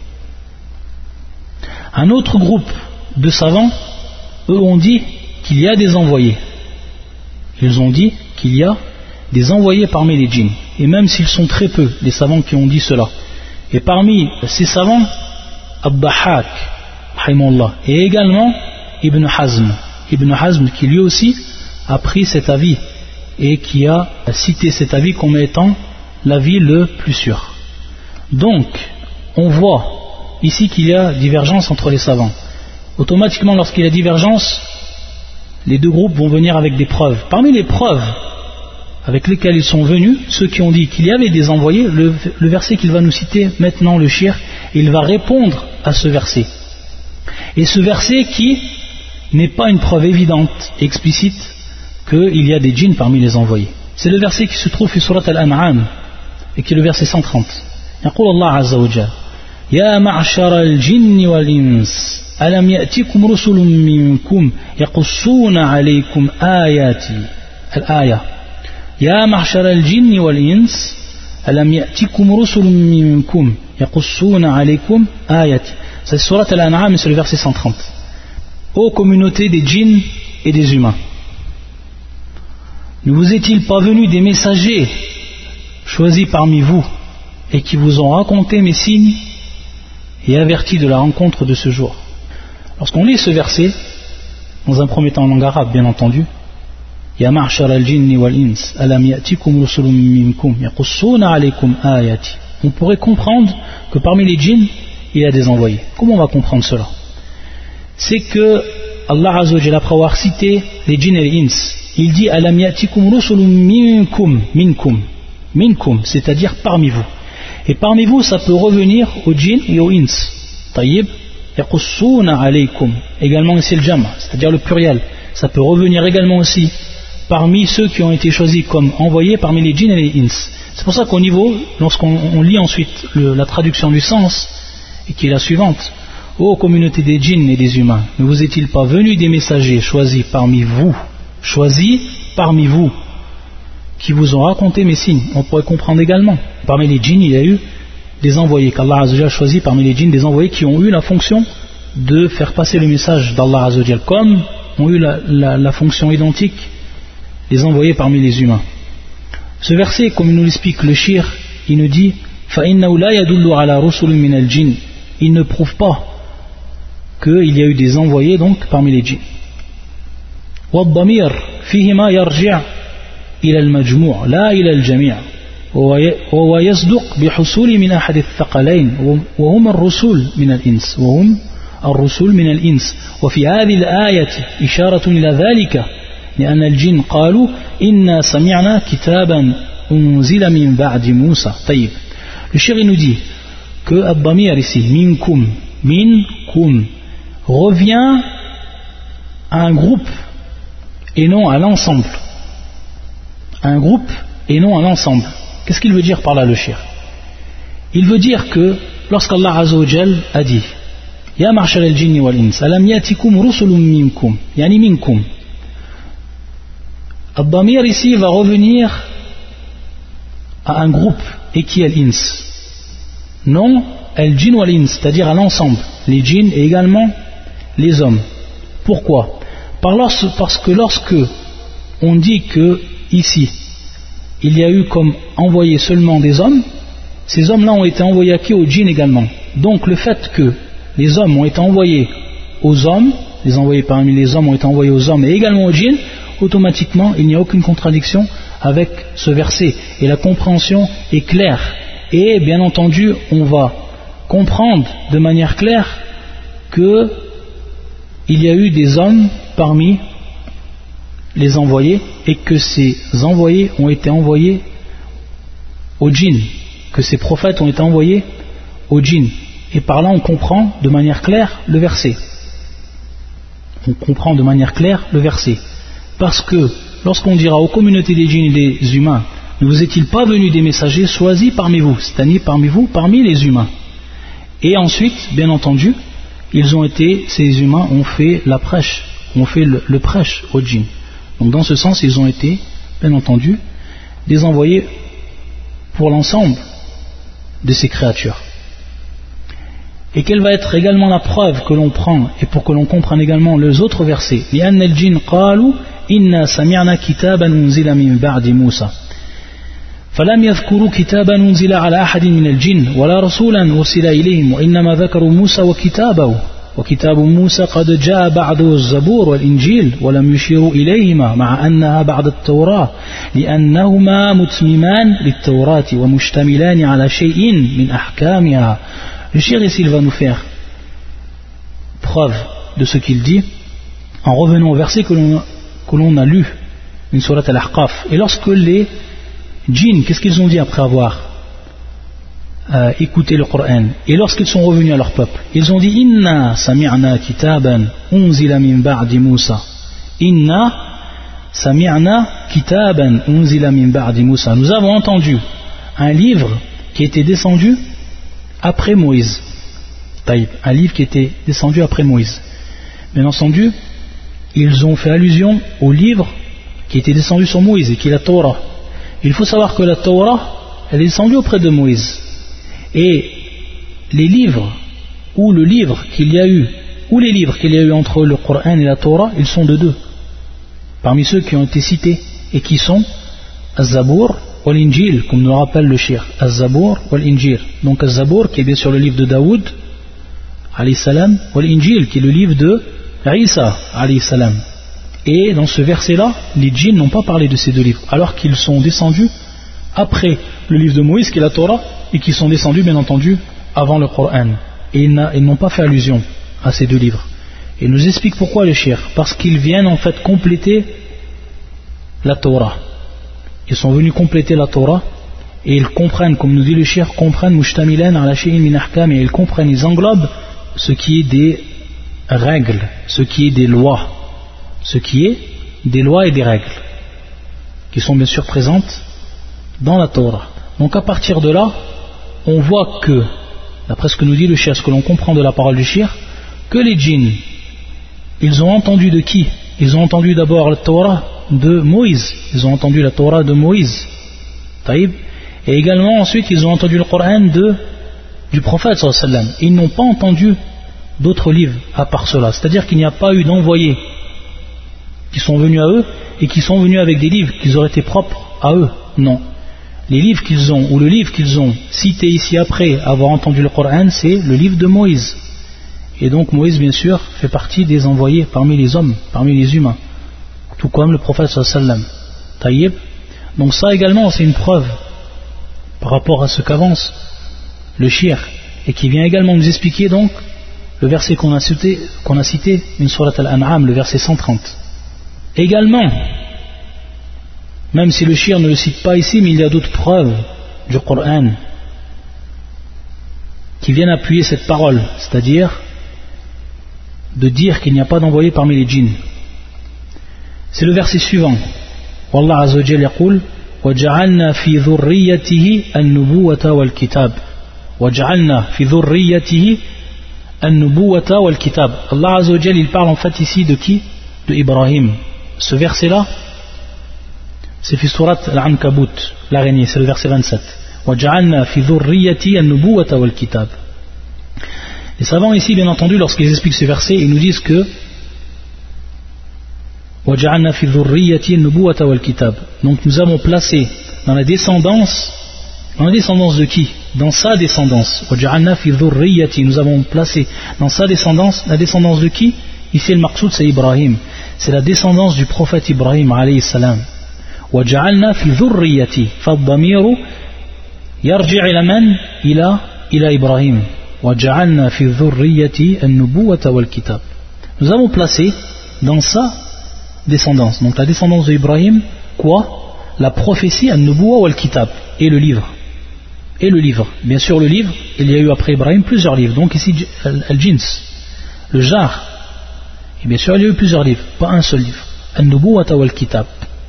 Un autre groupe de savants, eux ont dit qu'il y a des envoyés. Ils ont dit qu'il y a des envoyés parmi les djinns, et même s'ils sont très peu, les savants qui ont dit cela. Et parmi ces savants, Ad-Dahhak, et également Ibn Hazm, Ibn Hazm qui lui aussi a pris cet avis et qui a cité cet avis comme étant l'avis le plus sûr. Donc, on voit ici qu'il y a divergence entre les savants. Automatiquement, lorsqu'il y a divergence, les deux groupes vont venir avec des preuves. Parmi les preuves avec lesquelles ils sont venus, ceux qui ont dit qu'il y avait des envoyés, le, le verset qu'il va nous citer maintenant, le shir, il va répondre à ce verset. Et ce verset qui n'est pas une preuve évidente, explicite, qu'il y a des djinns parmi les envoyés. C'est le verset qui se trouve sur Surat Al-An'am, et qui est le verset cent trente. يقول الله عز وجل يا معشر الجن والإنس ألم يأتكم رسل منكم يقصون عليكم آياتي الآية يا معشر الجن والإنس ألم يأتكم رسل منكم يقصون عليكم آياتي. C'est Surat Al-An'am, c'est le verset cent trente. Ô communauté des djinns et des humains, ne vous est-il pas venu des messagers choisis parmi vous et qui vous ont raconté mes signes et averti de la rencontre de ce jour? Lorsqu'on lit ce verset, dans un premier temps en langue arabe bien entendu, Ya ma'shar al-jinni wal-ins, alam ya'tikum rusulun minkum yaqussuna alaykum ayati, on pourrait comprendre que parmi les djinns il y a des envoyés. Comment on va comprendre cela? C'est que Allah Azza wa Jalla, après avoir cité les djinns et les ins, il dit alam ya'tikum rusulun minkum, minkum, minkum, c'est-à-dire parmi vous. Et parmi vous, ça peut revenir aux djinns et aux ins. Tayyib, yaqussuna alaykum, également ici le jam', c'est-à-dire le pluriel. Ça peut revenir également aussi parmi ceux qui ont été choisis comme envoyés parmi les djinns et les ins. C'est pour ça qu'au niveau, lorsqu'on on lit ensuite le, la traduction du sens, et qui est la suivante: ô communauté des djinns et des humains, ne vous est-il pas venu des messagers choisis parmi vous, choisis parmi vous, qui vous ont raconté mes signes? On pourrait comprendre également, parmi les djinns il y a eu des envoyés, qu'Allah Azza wa Jalla a choisi parmi les djinns des envoyés qui ont eu la fonction de faire passer le message d'Allah Azza wa Jalla, comme ont eu la, la, la fonction identique les envoyés parmi les humains. Ce verset, comme il nous l'explique le shir, il nous dit فَإِنَّهُ لَا يَدُلُّ عَلَى رُسُلٍ مِنَ الْجِنِّ, il ne prouve pas qu'il y a eu des envoyés donc parmi les djinns. وَالضَّمِيرُ فِيهِمَا يَرْجِعُ إِلَى الْمَجْمُوعِ لَا إِلَى الْجَمِيعِ وهو يصدق بحصول من أحد الثقلين وهم الرسول من الإنس وهم الرسول من الإنس وفي هذه الآية إشارة إلى ذلك لأن الجن قالوا إنا سمعنا كتابا أنزل من بعد موسى. طيب, le chéri nous dit que Ad-Damir ici, minkum, minkum, revient à un groupe et non à l'ensemble. Un groupe et non à l'ensemble. Qu'est-ce qu'il veut dire par là le shir? Il veut dire que lorsqu'Allah Azza wa Jal a dit Ya marshal al-jinni wal-ins alam yatikum rusulun minkum yani minkum, Ad-Damir ici va revenir à un groupe et qui est l'ins, non al-jinn wal-ins, c'est-à-dire à l'ensemble, les djinns et également les hommes. Pourquoi? Parce que lorsque on dit que ici il y a eu comme envoyé seulement des hommes, ces hommes-là ont été envoyés à qui? Aux djinns également. Donc le fait que les hommes ont été envoyés aux hommes, les envoyés parmi les hommes ont été envoyés aux hommes et également aux djinns, automatiquement il n'y a aucune contradiction avec ce verset et la compréhension est claire. Et bien entendu on va comprendre de manière claire que il y a eu des hommes parmi les envoyés et que ces envoyés ont été envoyés aux djinns, que ces prophètes ont été envoyés aux djinns. Et par là on comprend de manière claire le verset. On comprend de manière claire le verset. Parce que lorsqu'on dira aux communautés des djinns et des humains, ne vous est-il pas venu des messagers choisis parmi vous, c'est-à-dire parmi vous, parmi les humains. Et ensuite, bien entendu, ils ont été, ces humains ont fait la prêche, ont fait le, le prêche aux djinns. Donc dans ce sens, ils ont été, bien entendu, des envoyés pour l'ensemble de ces créatures. Et quelle va être également la preuve que l'on prend et pour que l'on comprenne également les autres versets? لأن الجن قالوا إنا سمعنا كتابا أنزل من بعد موسى فلم يذكروا كتابا أنزل على أحد من الجن ولا رسولا أرسل إليهم وإنما ذكروا موسى وكتابه وكتاب موسى قد جاء بعده الزبور والإنجيل ولم يشيروا إليهما مع أنها بعد التوراة لأنهما متممان للتوراة ومشتملان على شيء من أحكامها. Le shir ici il va nous faire preuve de ce qu'il dit en revenant au verset que l'on, que l'on a lu, une sourate al-Ahqaf. Et lorsque les djinns, qu'est-ce qu'ils ont dit après avoir euh, écouté le Coran? Et lorsqu'ils sont revenus à leur peuple, ils ont dit Inna sami'na kitaban unzila min ba'di Musa. Inna sami'na kitaban unzila min ba'di Musa. Nous avons entendu un livre qui était descendu après Moïse. Taïb, un livre qui était descendu après Moïse. Bien entendu, ils ont fait allusion au livre qui était descendu sur Moïse et qui est la Torah. Il faut savoir que la Torah, elle est descendue auprès de Moïse. Et les livres, ou le livre qu'il y a eu, ou les livres qu'il y a eu entre le Coran et la Torah, ils sont de deux. Parmi ceux qui ont été cités et qui sont Az-Zabour wal-Injil, comme nous rappelle le shir, Az-Zabour wal-Injil. Donc Az-Zabour qui est bien sûr le livre de Daoud alayhi salam, wal-Injil qui est le livre de Isa alayhi salam. Et dans ce verset là, les djinns n'ont pas parlé de ces deux livres, alors qu'ils sont descendus après le livre de Moïse qui est la Torah, et qui sont descendus bien entendu avant le Coran. Et ils n'ont pas fait allusion à ces deux livres. Et il nous explique pourquoi les shir, parce qu'ils viennent en fait compléter la Torah. Ils sont venus compléter la Torah et ils comprennent, comme nous dit le shir, comprennent mushtamilan ala shay'in min ahkam, et ils comprennent, ils englobent ce qui est des règles, ce qui est des lois, ce qui est des lois et des règles qui sont bien sûr présentes dans la Torah. Donc à partir de là, on voit que, d'après ce que nous dit le shir, ce que l'on comprend de la parole du shir, que les djinns, ils ont entendu de qui? Ils ont entendu d'abord la Torah de Moïse, ils ont entendu la Torah de Moïse, Taïb, et également ensuite ils ont entendu le Coran de, du prophète sallallahu alayhi wa sallam. Ils n'ont pas entendu d'autres livres à part cela, c'est-à-dire qu'il n'y a pas eu d'envoyés qui sont venus à eux et qui sont venus avec des livres qui auraient été propres à eux, non. les livres qu'ils ont, ou le livre qu'ils ont cité ici après avoir entendu le Coran, c'est le livre de Moïse. Et donc Moïse, bien sûr, fait partie des envoyés parmi les hommes, parmi les humains, tout comme le prophète sallallahu alayhi wa sallam. Taïb. Donc ça également, c'est une preuve par rapport à ce qu'avance le shir, et qui vient également nous expliquer donc le verset qu'on a cité, qu'on a cité, une sourate Al-An'am, le verset cent trente. Également, même si le shir ne le cite pas ici, mais il y a d'autres preuves du Coran qui viennent appuyer cette parole, c'est-à-dire de dire qu'il n'y a pas d'envoyé parmi les djinns. C'est le verset suivant. Wallah Azza wa Jalla yaqul وَجَعَلْنَا فِي ذُرِّيَّتِهِ النُّبُوَّةَ وَالْكِتَابَ وَجَعَلْنَا فِي ذُرِّيَّتِهِ النُّبُوَّةَ وَالْكِتَابَ. Allah Azza wa Jalla, il parle en fait ici de qui? De Ibrahim. Ce verset-là, c'est fi surat Al-Ankabut, l'araignée, c'est le verset vingt-sept. وَجَعَلْنَا فِي ذُرِّيَّتِهِ النُّبُوَّةَ وَالْكِتَابَ. Les savants ici, bien entendu, lorsqu'ils expliquent ce verset, ils nous disent que وَجَعَلْنَا فِي ذُرِّيَّتِهِ النُّبُوَّةَ وَالْكِتَابَ. Donc nous avons placé dans la descendance, dans la descendance de qui? Dans sa descendance. وَجَعَلْنَا فِي ذُرِّيَّتِهِ. Nous avons placé dans sa descendance, la descendance de qui? Ici le maqsoud c'est Ibrahim. C'est la descendance du prophète Ibrahim alayhi salam. وَجَعَلْنَا فِي ذُرِّيَّتِهِ فَالضَّمِيرُ يَرْجِعُ إِلَى مَنْ؟ إلى إلى إبراهيم. وَجَعَلْنَا فِي ذُرِّيَّتِهِ النُّبُوَّةَ وَالْكِتَابَ. Nous avons placé dans sa descendance, donc la descendance d'Ibrahim, quoi? La prophétie an-nubuwa wal-kitab, et le livre. Et le livre. Bien sûr, le livre, il y a eu après Ibrahim plusieurs livres. Donc ici, al-jins, le jar. Et bien sûr, il y a eu plusieurs livres, pas un seul livre. An-nubuwa wal-kitab.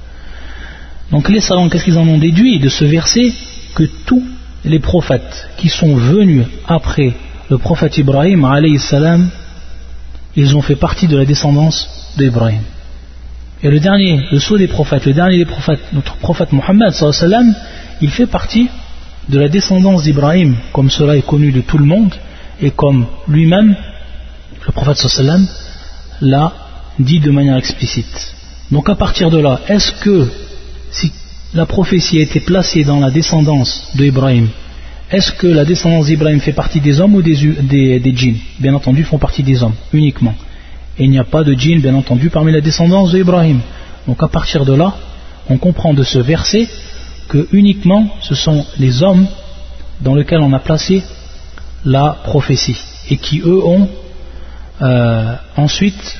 Donc les savants, qu'est-ce qu'ils en ont déduit de ce verset? Que tous les prophètes qui sont venus après le prophète Ibrahim, alayhi salam, ils ont fait partie de la descendance d'Ibrahim. Et le dernier, le sceau des prophètes, le dernier des prophètes, notre prophète Mohammed sallallahu alayhi wa sallam, il fait partie de la descendance d'Ibrahim, comme cela est connu de tout le monde, et comme lui-même, le prophète sallallahu alayhi wa sallam, l'a dit de manière explicite. Donc à partir de là, est-ce que si la prophétie a été placée dans la descendance d'Ibrahim, est-ce que la descendance d'Ibrahim fait partie des hommes ou des, des, des djinns? Bien entendu, ils font partie des hommes, uniquement. Et il n'y a pas de djinn, bien entendu, parmi la descendance d'Ibrahim. Donc à partir de là, on comprend de ce verset que uniquement ce sont les hommes dans lesquels on a placé la prophétie et qui eux ont euh, ensuite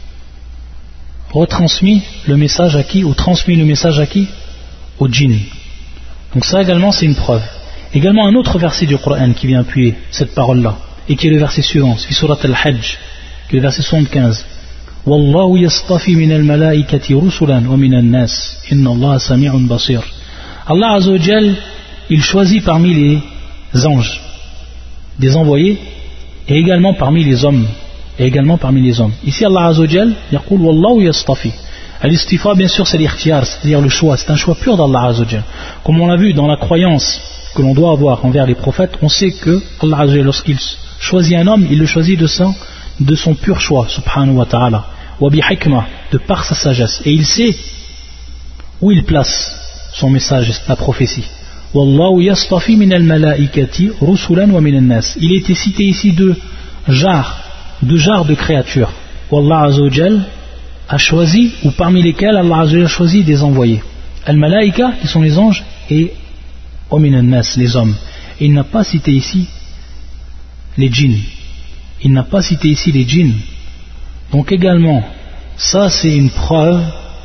retransmis le message à qui, ou transmis le message à qui? Au djinn. Donc ça également c'est une preuve. Également un autre verset du Coran qui vient appuyer cette parole-là et qui est le verset suivant, c'est surat Al-Hajj, qui est le verset soixante-quinze. Wallahu yastafi min al-malaikati rusulan wa min an-nas inna Allah sami'un basir. Allah Azza wa Jal, il choisit parmi les anges des envoyés et également parmi les hommes et également parmi les hommes. Ici Allah Azza wa Jal yaqul wallahu yastafi. Al-istifa bien sûr c'est l'ikhtiyar, c'est-à-dire le choix, c'est un choix pur d'Allah Azza wa Jal. Comme on l'a vu dans la croyance que l'on doit avoir envers les prophètes, on sait que Allah Azza wa Jal, lorsqu'il choisit un homme, il le choisit de son, de son pur choix, subhanahu wa ta'ala, wa bi hikmah, de par sa sagesse, et il sait où il place son message, la prophétie. Wallahu yastafi min al-malaikati rusulan wa min an-nas. Il était cité ici deux genres, deux genres de créatures. Wallah Azza wa Jal a choisi, ou parmi lesquels Allah Azza wa Jal a choisi des envoyés. Al-malaika, qui sont les anges, et wa min an-nas, les hommes. Et il n'a pas cité ici les djinns. Il n'a pas cité ici les djinns. Donc également, ça c'est une preuve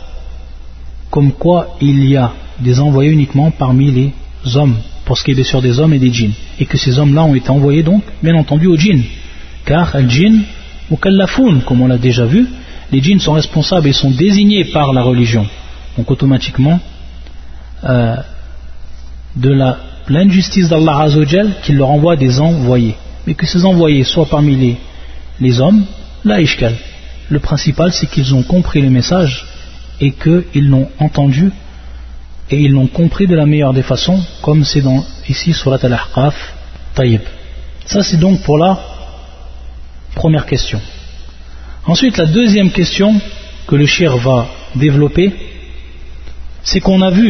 comme quoi il y a des envoyés uniquement parmi les hommes, pour ce qui est bien sûr des hommes et des djinns, et que ces hommes-là ont été envoyés donc, bien entendu, aux djinns, car al-djinn ou kallafoun, comme on l'a déjà vu, les djinns sont responsables et sont désignés par la religion, donc automatiquement euh, de la pleine justice d'Allah Azza wa Jal qui leur envoie des envoyés, mais que ces envoyés soient parmi les, les hommes, la ishkal. Le principal c'est qu'ils ont compris le message et qu'ils l'ont entendu et ils l'ont compris de la meilleure des façons, comme c'est dans ici surat Al-Ahqaf. Taïb. Ça c'est donc pour la première question. Ensuite la deuxième question que le shir va développer, c'est qu'on a vu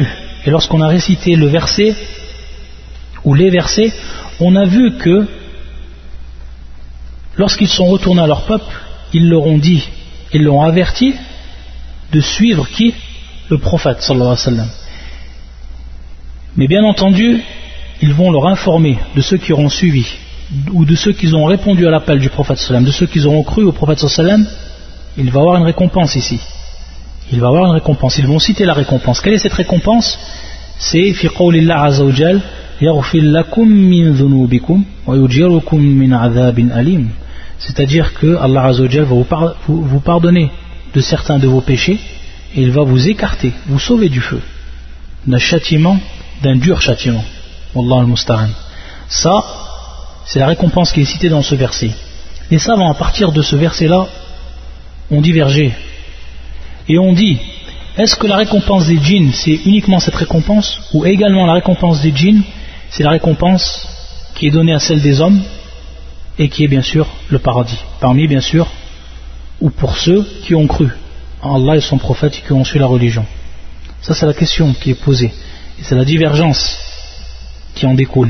Et lorsqu'on a récité le verset, ou les versets, on a vu que lorsqu'ils sont retournés à leur peuple, ils leur ont dit, ils leur ont averti de suivre qui? Le prophète sallallahu alayhi wa sallam. Mais bien entendu, ils vont leur informer de ceux qui auront suivi, ou de ceux qui ont répondu à l'appel du prophète sallallahu alayhi wa sallam, de ceux qui auront cru au prophète sallallahu alayhi wa sallam. Il va avoir une récompense ici. Il va avoir une récompense. Ils vont citer la récompense. Quelle est cette récompense? C'est fi qawlillah azza wa jal yaghfir lakum min dhunubikum wa yujirukum min adhabin alim. C'est-à-dire que Allah azza wa jal va vous, par, vous, vous pardonner de certains de vos péchés et il va vous écarter, vous sauver du feu, d'un châtiment, d'un dur châtiment. Wallahu al-musta'an. Ça, c'est la récompense qui est citée dans ce verset. Les savants, à partir de ce verset-là, ont divergé et ont dit, est-ce que la récompense des djinns c'est uniquement cette récompense, ou également la récompense des djinns c'est la récompense qui est donnée à celle des hommes et qui est bien sûr le paradis, parmi bien sûr, ou pour ceux qui ont cru en Allah et son prophète et qui ont suivi la religion. Ça c'est la question qui est posée et c'est la divergence qui en découle.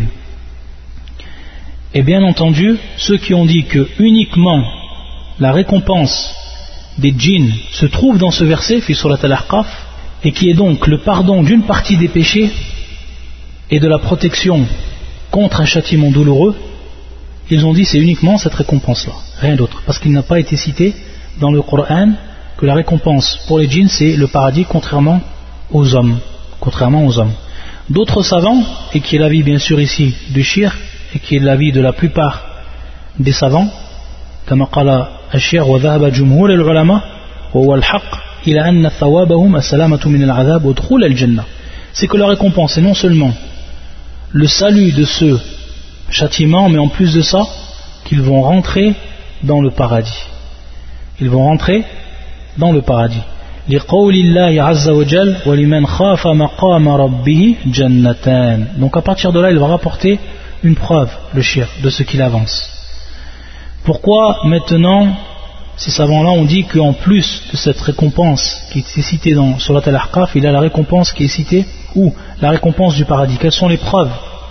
Et bien entendu, ceux qui ont dit que uniquement la récompense des djinns se trouve dans ce verset, fi surat al-Ahqaf, et qui est donc le pardon d'une partie des péchés et de la protection contre un châtiment douloureux, ils ont dit c'est uniquement cette récompense-là, rien d'autre, parce qu'il n'a pas été cité dans le Coran que la récompense pour les djinns c'est le paradis contrairement aux hommes, contrairement aux hommes. D'autres savants, et qui est l'avis bien sûr ici du shir, et qui est l'avis de la plupart des savants, كما قال الشيخ وذهب جمهور العلماء وهو الحق إلى أن ثوابهم السلامة من العذاب ودخول الجنة. C'est que la récompense est non seulement le salut de ce châtiment, mais en plus de ça, qu'ils vont rentrer dans le paradis. Ils vont rentrer dans le paradis. لقول الله عز وجل ولمن خاف مقام ربه جنتان. Donc à partir de là, il va rapporter une preuve, le shir, de ce qu'il avance. Pourquoi maintenant ces savants-là ont dit qu'en plus de cette récompense qui est citée dans Surat al-Ahqaf, il y a la récompense qui est citée, ou la récompense du paradis? Quelles sont les preuves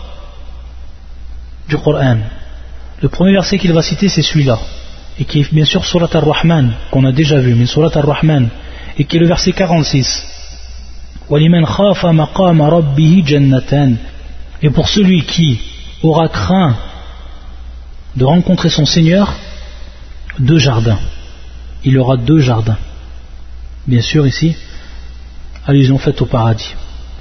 du Coran? Le premier verset qu'il va citer c'est celui-là, et qui est bien sûr Surat al-Rahman, qu'on a déjà vu, mais Surat al-Rahman, et qui est le verset quarante-six. وَلِمَنْ خَافَ مَقَامَ رَبِّهِ جَنَّتَانِ. Et pour celui qui aura craint de rencontrer son Seigneur, deux jardins. Il aura deux jardins. Bien sûr ici, allusion faite au paradis.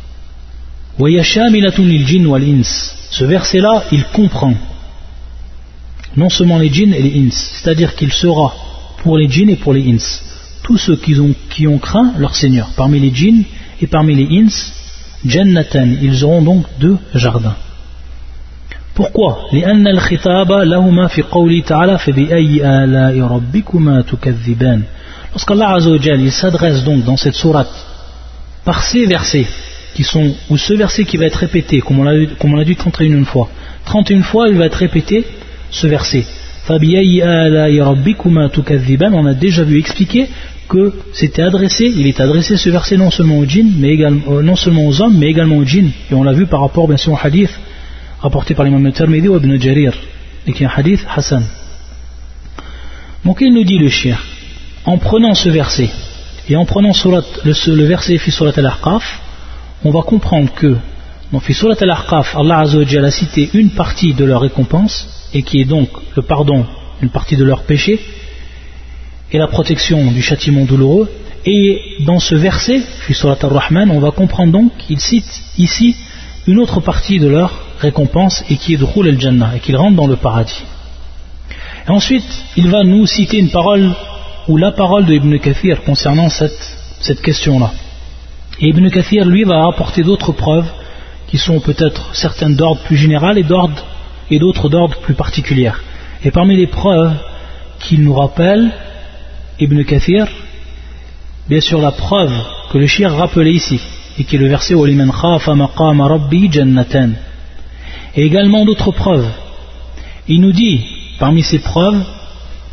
Ce verset-là, il comprend non seulement les djinns et les ins, c'est-à-dire qu'il sera pour les djinns et pour les ins. Tous ceux qui ont, qui ont craint leur Seigneur, parmi les djinns et parmi les ins, jannatan, ils auront donc deux jardins. Pourquoi? لأن الخطاب لهما في قوله تعالى فبأي آلاء ربكما تكذبان. Lorsqu'Allah Azza wa Jal il s'adresse donc dans cette sourate par ces versets qui sont, ou ce verset qui va être répété comme on l'a, comme on l'a dit trente et une fois, trente et une fois il va être répété ce verset فبأي آلاء ربكما تكذبان. On a déjà vu expliquer que c'était adressé, il est adressé ce verset non seulement aux djinns, mais également, euh, non seulement aux hommes mais également aux djinns, et on l'a vu par rapport bien sûr au hadith rapporté par l'imam al-Tirmidhi ou Ibn Jarir, et qui est un hadith Hassan. Donc il nous dit le shir, en prenant ce verset et en prenant surat, le, le verset fi surat al-Ahqaf, on va comprendre que dans fi surat al-Ahqaf, Allah Azza wa Jalla a cité une partie de leur récompense, et qui est donc le pardon, une partie de leur péché et la protection du châtiment douloureux. Et dans ce verset fi surat al-Rahman, on va comprendre donc qu'il cite ici une autre partie de leur récompense, et qui est Dukhul al-Jannah, et qu'ils rentrent dans le paradis. Et ensuite il va nous citer une parole, ou la parole de Ibn Kathir concernant cette, cette question là, et Ibn Kathir lui va apporter d'autres preuves qui sont peut-être certaines d'ordre plus général et, d'ordre, et d'autres d'ordre plus particulières. Et parmi les preuves qu'il nous rappelle Ibn Kathir, bien sûr la preuve que le shir rappelait ici, et qui est le verset وَلِمَنْ خَافَ مَقَامَ رَبِّهِ جَنَّتَانِ. Et également d'autres preuves. Il nous dit, parmi ces preuves,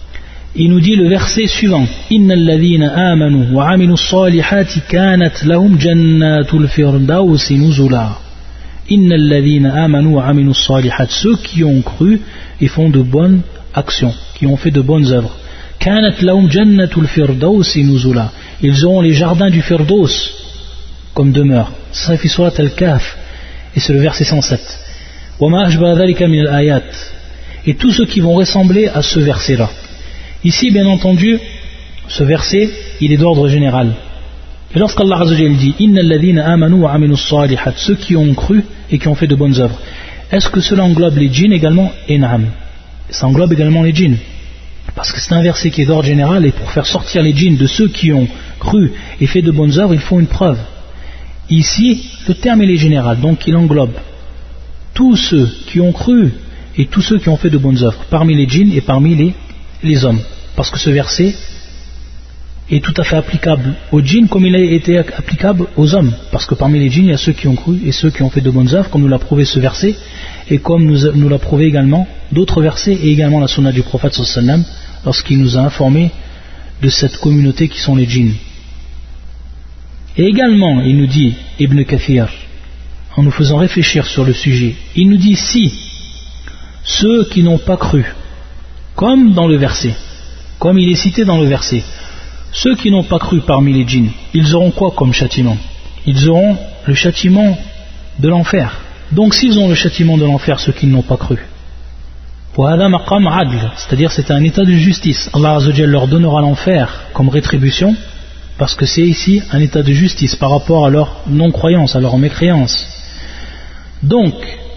il nous dit le verset suivant: Innal ladhina amanu wa amilus salihati kanat lahum jannatul firdausi nuzula. Innal ladhina amanu wa amilus salihati, ceux qui ont cru et font de bonnes actions, qui ont fait de bonnes œuvres. Kanat lahum jannatul firdausi nuzula. Ils auront les jardins du Firdaus comme demeure. Ça fait surat al-Kahf et c'est le verset cent sept. Wa ma ashbaha dhalika min al-ayat. Et tous ceux qui vont ressembler à ce verset-là. Ici, bien entendu, ce verset, il est d'ordre général. Et lorsqu'Allah Azza wa Jalla dit Innal ladhina amanu wa amilus salihat, ceux qui ont cru et qui ont fait de bonnes œuvres, est-ce que cela englobe les djinns également? Et naam, ça englobe également les djinns. Parce que c'est un verset qui est d'ordre général, et pour faire sortir les djinns de ceux qui ont cru et fait de bonnes œuvres, il faut une preuve. Ici, le terme il est général, donc il englobe tous ceux qui ont cru et tous ceux qui ont fait de bonnes œuvres, parmi les djinns et parmi les les hommes, parce que ce verset est tout à fait applicable aux djinns comme il a été applicable aux hommes, parce que parmi les djinns il y a ceux qui ont cru et ceux qui ont fait de bonnes œuvres, comme nous l'a prouvé ce verset et comme nous, nous l'a prouvé également d'autres versets et également la sunna du prophète sallallahu alayhi wa sallam lorsqu'il nous a informé de cette communauté qui sont les djinns. Et également il nous dit, Ibn Kathir, en nous faisant réfléchir sur le sujet, il nous dit si ceux qui n'ont pas cru, comme dans le verset, comme il est cité dans le verset, ceux qui n'ont pas cru parmi les djinns, ils auront quoi comme châtiment? Ils auront le châtiment de l'enfer. Donc s'ils ont le châtiment de l'enfer, ceux qui n'ont pas cru, c'est-à-dire c'est un état de justice, Allah Azza wa Jalla leur donnera l'enfer comme rétribution, parce que c'est ici un état de justice par rapport à leur non-croyance, à leur mécréance. Donc,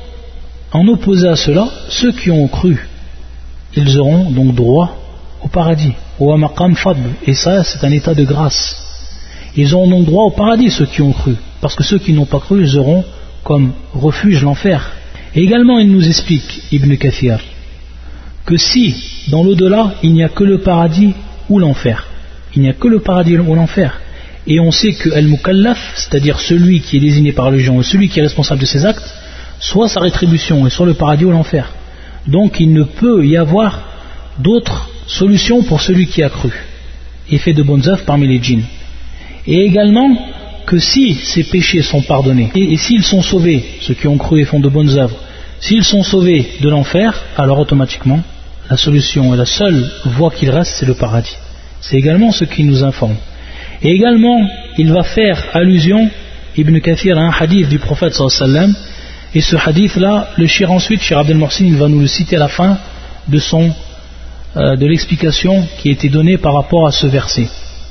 en opposé à cela, ceux qui ont cru, ils auront donc droit au paradis, au maqam fadl, et ça c'est un état de grâce. Ils auront donc droit au paradis, ceux qui ont cru, parce que ceux qui n'ont pas cru, ils auront comme refuge l'enfer. Et également il nous explique, Ibn Kathir, que si dans l'au-delà il n'y a que le paradis ou l'enfer, il n'y a que le paradis ou l'enfer, et on sait que al-mukallaf, c'est-à-dire celui qui est désigné par le gens, celui qui est responsable de ses actes, soit sa rétribution est soit le paradis ou l'enfer. Donc il ne peut y avoir d'autre solution pour celui qui a cru et fait de bonnes œuvres parmi les djinns. Et également que si ces péchés sont pardonnés et, et s'ils sont sauvés, ceux qui ont cru et font de bonnes œuvres, s'ils sont sauvés de l'enfer, alors automatiquement la solution et la seule voie qu'il reste, c'est le paradis. C'est également ce qui nous informe. Et également il va faire allusion, Ibn Kathir, à un hadith du prophète sallallahu alayhi wa sallam. Et ce hadith-là, le shir ensuite, Shir Abdel Mohsin, il va nous le citer à la fin de, son, euh, de l'explication qui a été donnée par rapport à ce verset.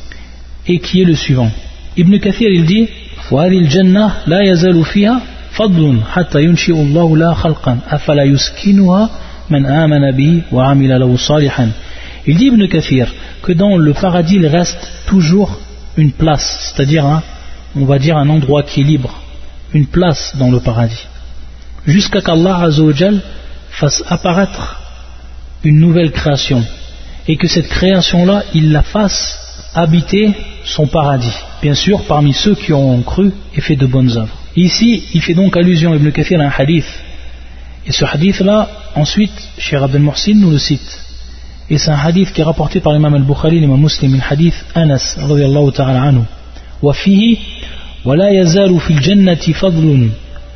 Et qui est le suivant. Ibn Kathir, il dit وَهَذِي الْجَنَّةِ لَا يَزَالُ فِيهَا فَضْلٌ حَتَّى يُنْشِئُ اللَّهُ لَهَا خَلْقًا أَفَلَا يُسْكِنُهَا مَنْ آمَنَ بِهِ وَعَمِلَ لَهُ صَالِحًا. Il dit Ibn Kathir que dans le paradis il reste toujours une place, c'est-à-dire un, on va dire un endroit qui est libre, une place dans le paradis, jusqu'à qu'Allah Azza wa Jal fasse apparaître une nouvelle création et que cette création-là, il la fasse habiter son paradis, bien sûr parmi ceux qui ont cru et fait de bonnes œuvres. Ici, il fait donc allusion, Ibn Kathir, à un hadith, et ce hadith-là, ensuite, Cheikh Abdel Mohsin nous le cite, et c'est un hadith qui est rapporté par l'imam al-Bukhari, l'imam Muslim, le hadith Anas, radiyallahu ta'ala anhu, wa fihi, wa la yazalu fil jannati fadlun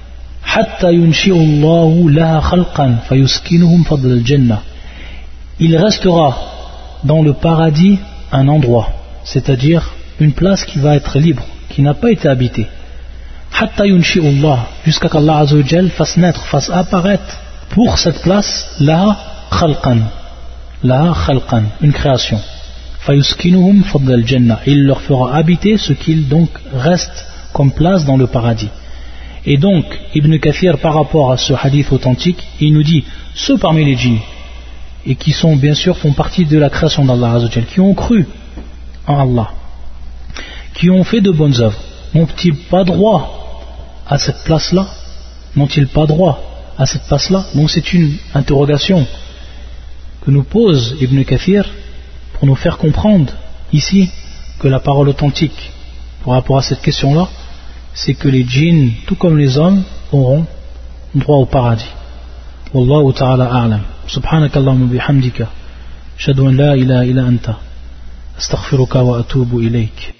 حتى ينشئ الله لها خلقا فيسكنهم فضل الجنة. Il restera dans le paradis un endroit, c'est-à-dire une place qui va être libre, qui n'a pas été habitée. حتى ينشئ الله, jusqu'à qu'Allah Azza wa Jal fasse naître, fasse apparaître pour cette place لها خلقا, لها خلقا, une création. فيسكنهم فضل الجنة, il leur fera habiter ce qu'il donc reste comme place dans le paradis. Et donc, Ibn Kathir, par rapport à ce hadith authentique, il nous dit, ceux parmi les djinns, et qui sont bien sûr, font partie de la création d'Allah Azza wa Jal, qui ont cru en Allah, qui ont fait de bonnes œuvres, n'ont-ils pas droit à cette place-là? N'ont-ils pas droit à cette place-là? Donc c'est une interrogation que nous pose Ibn Kathir pour nous faire comprendre ici que la parole authentique par rapport à cette question-là, c'est que les djinns, tout comme les hommes, auront droit au paradis. Wallahu ta'ala a'lam. Subhanakallahumma bihamdika. أشهد أن لا إله إلا أنت أستغفرك وأتوب إليك.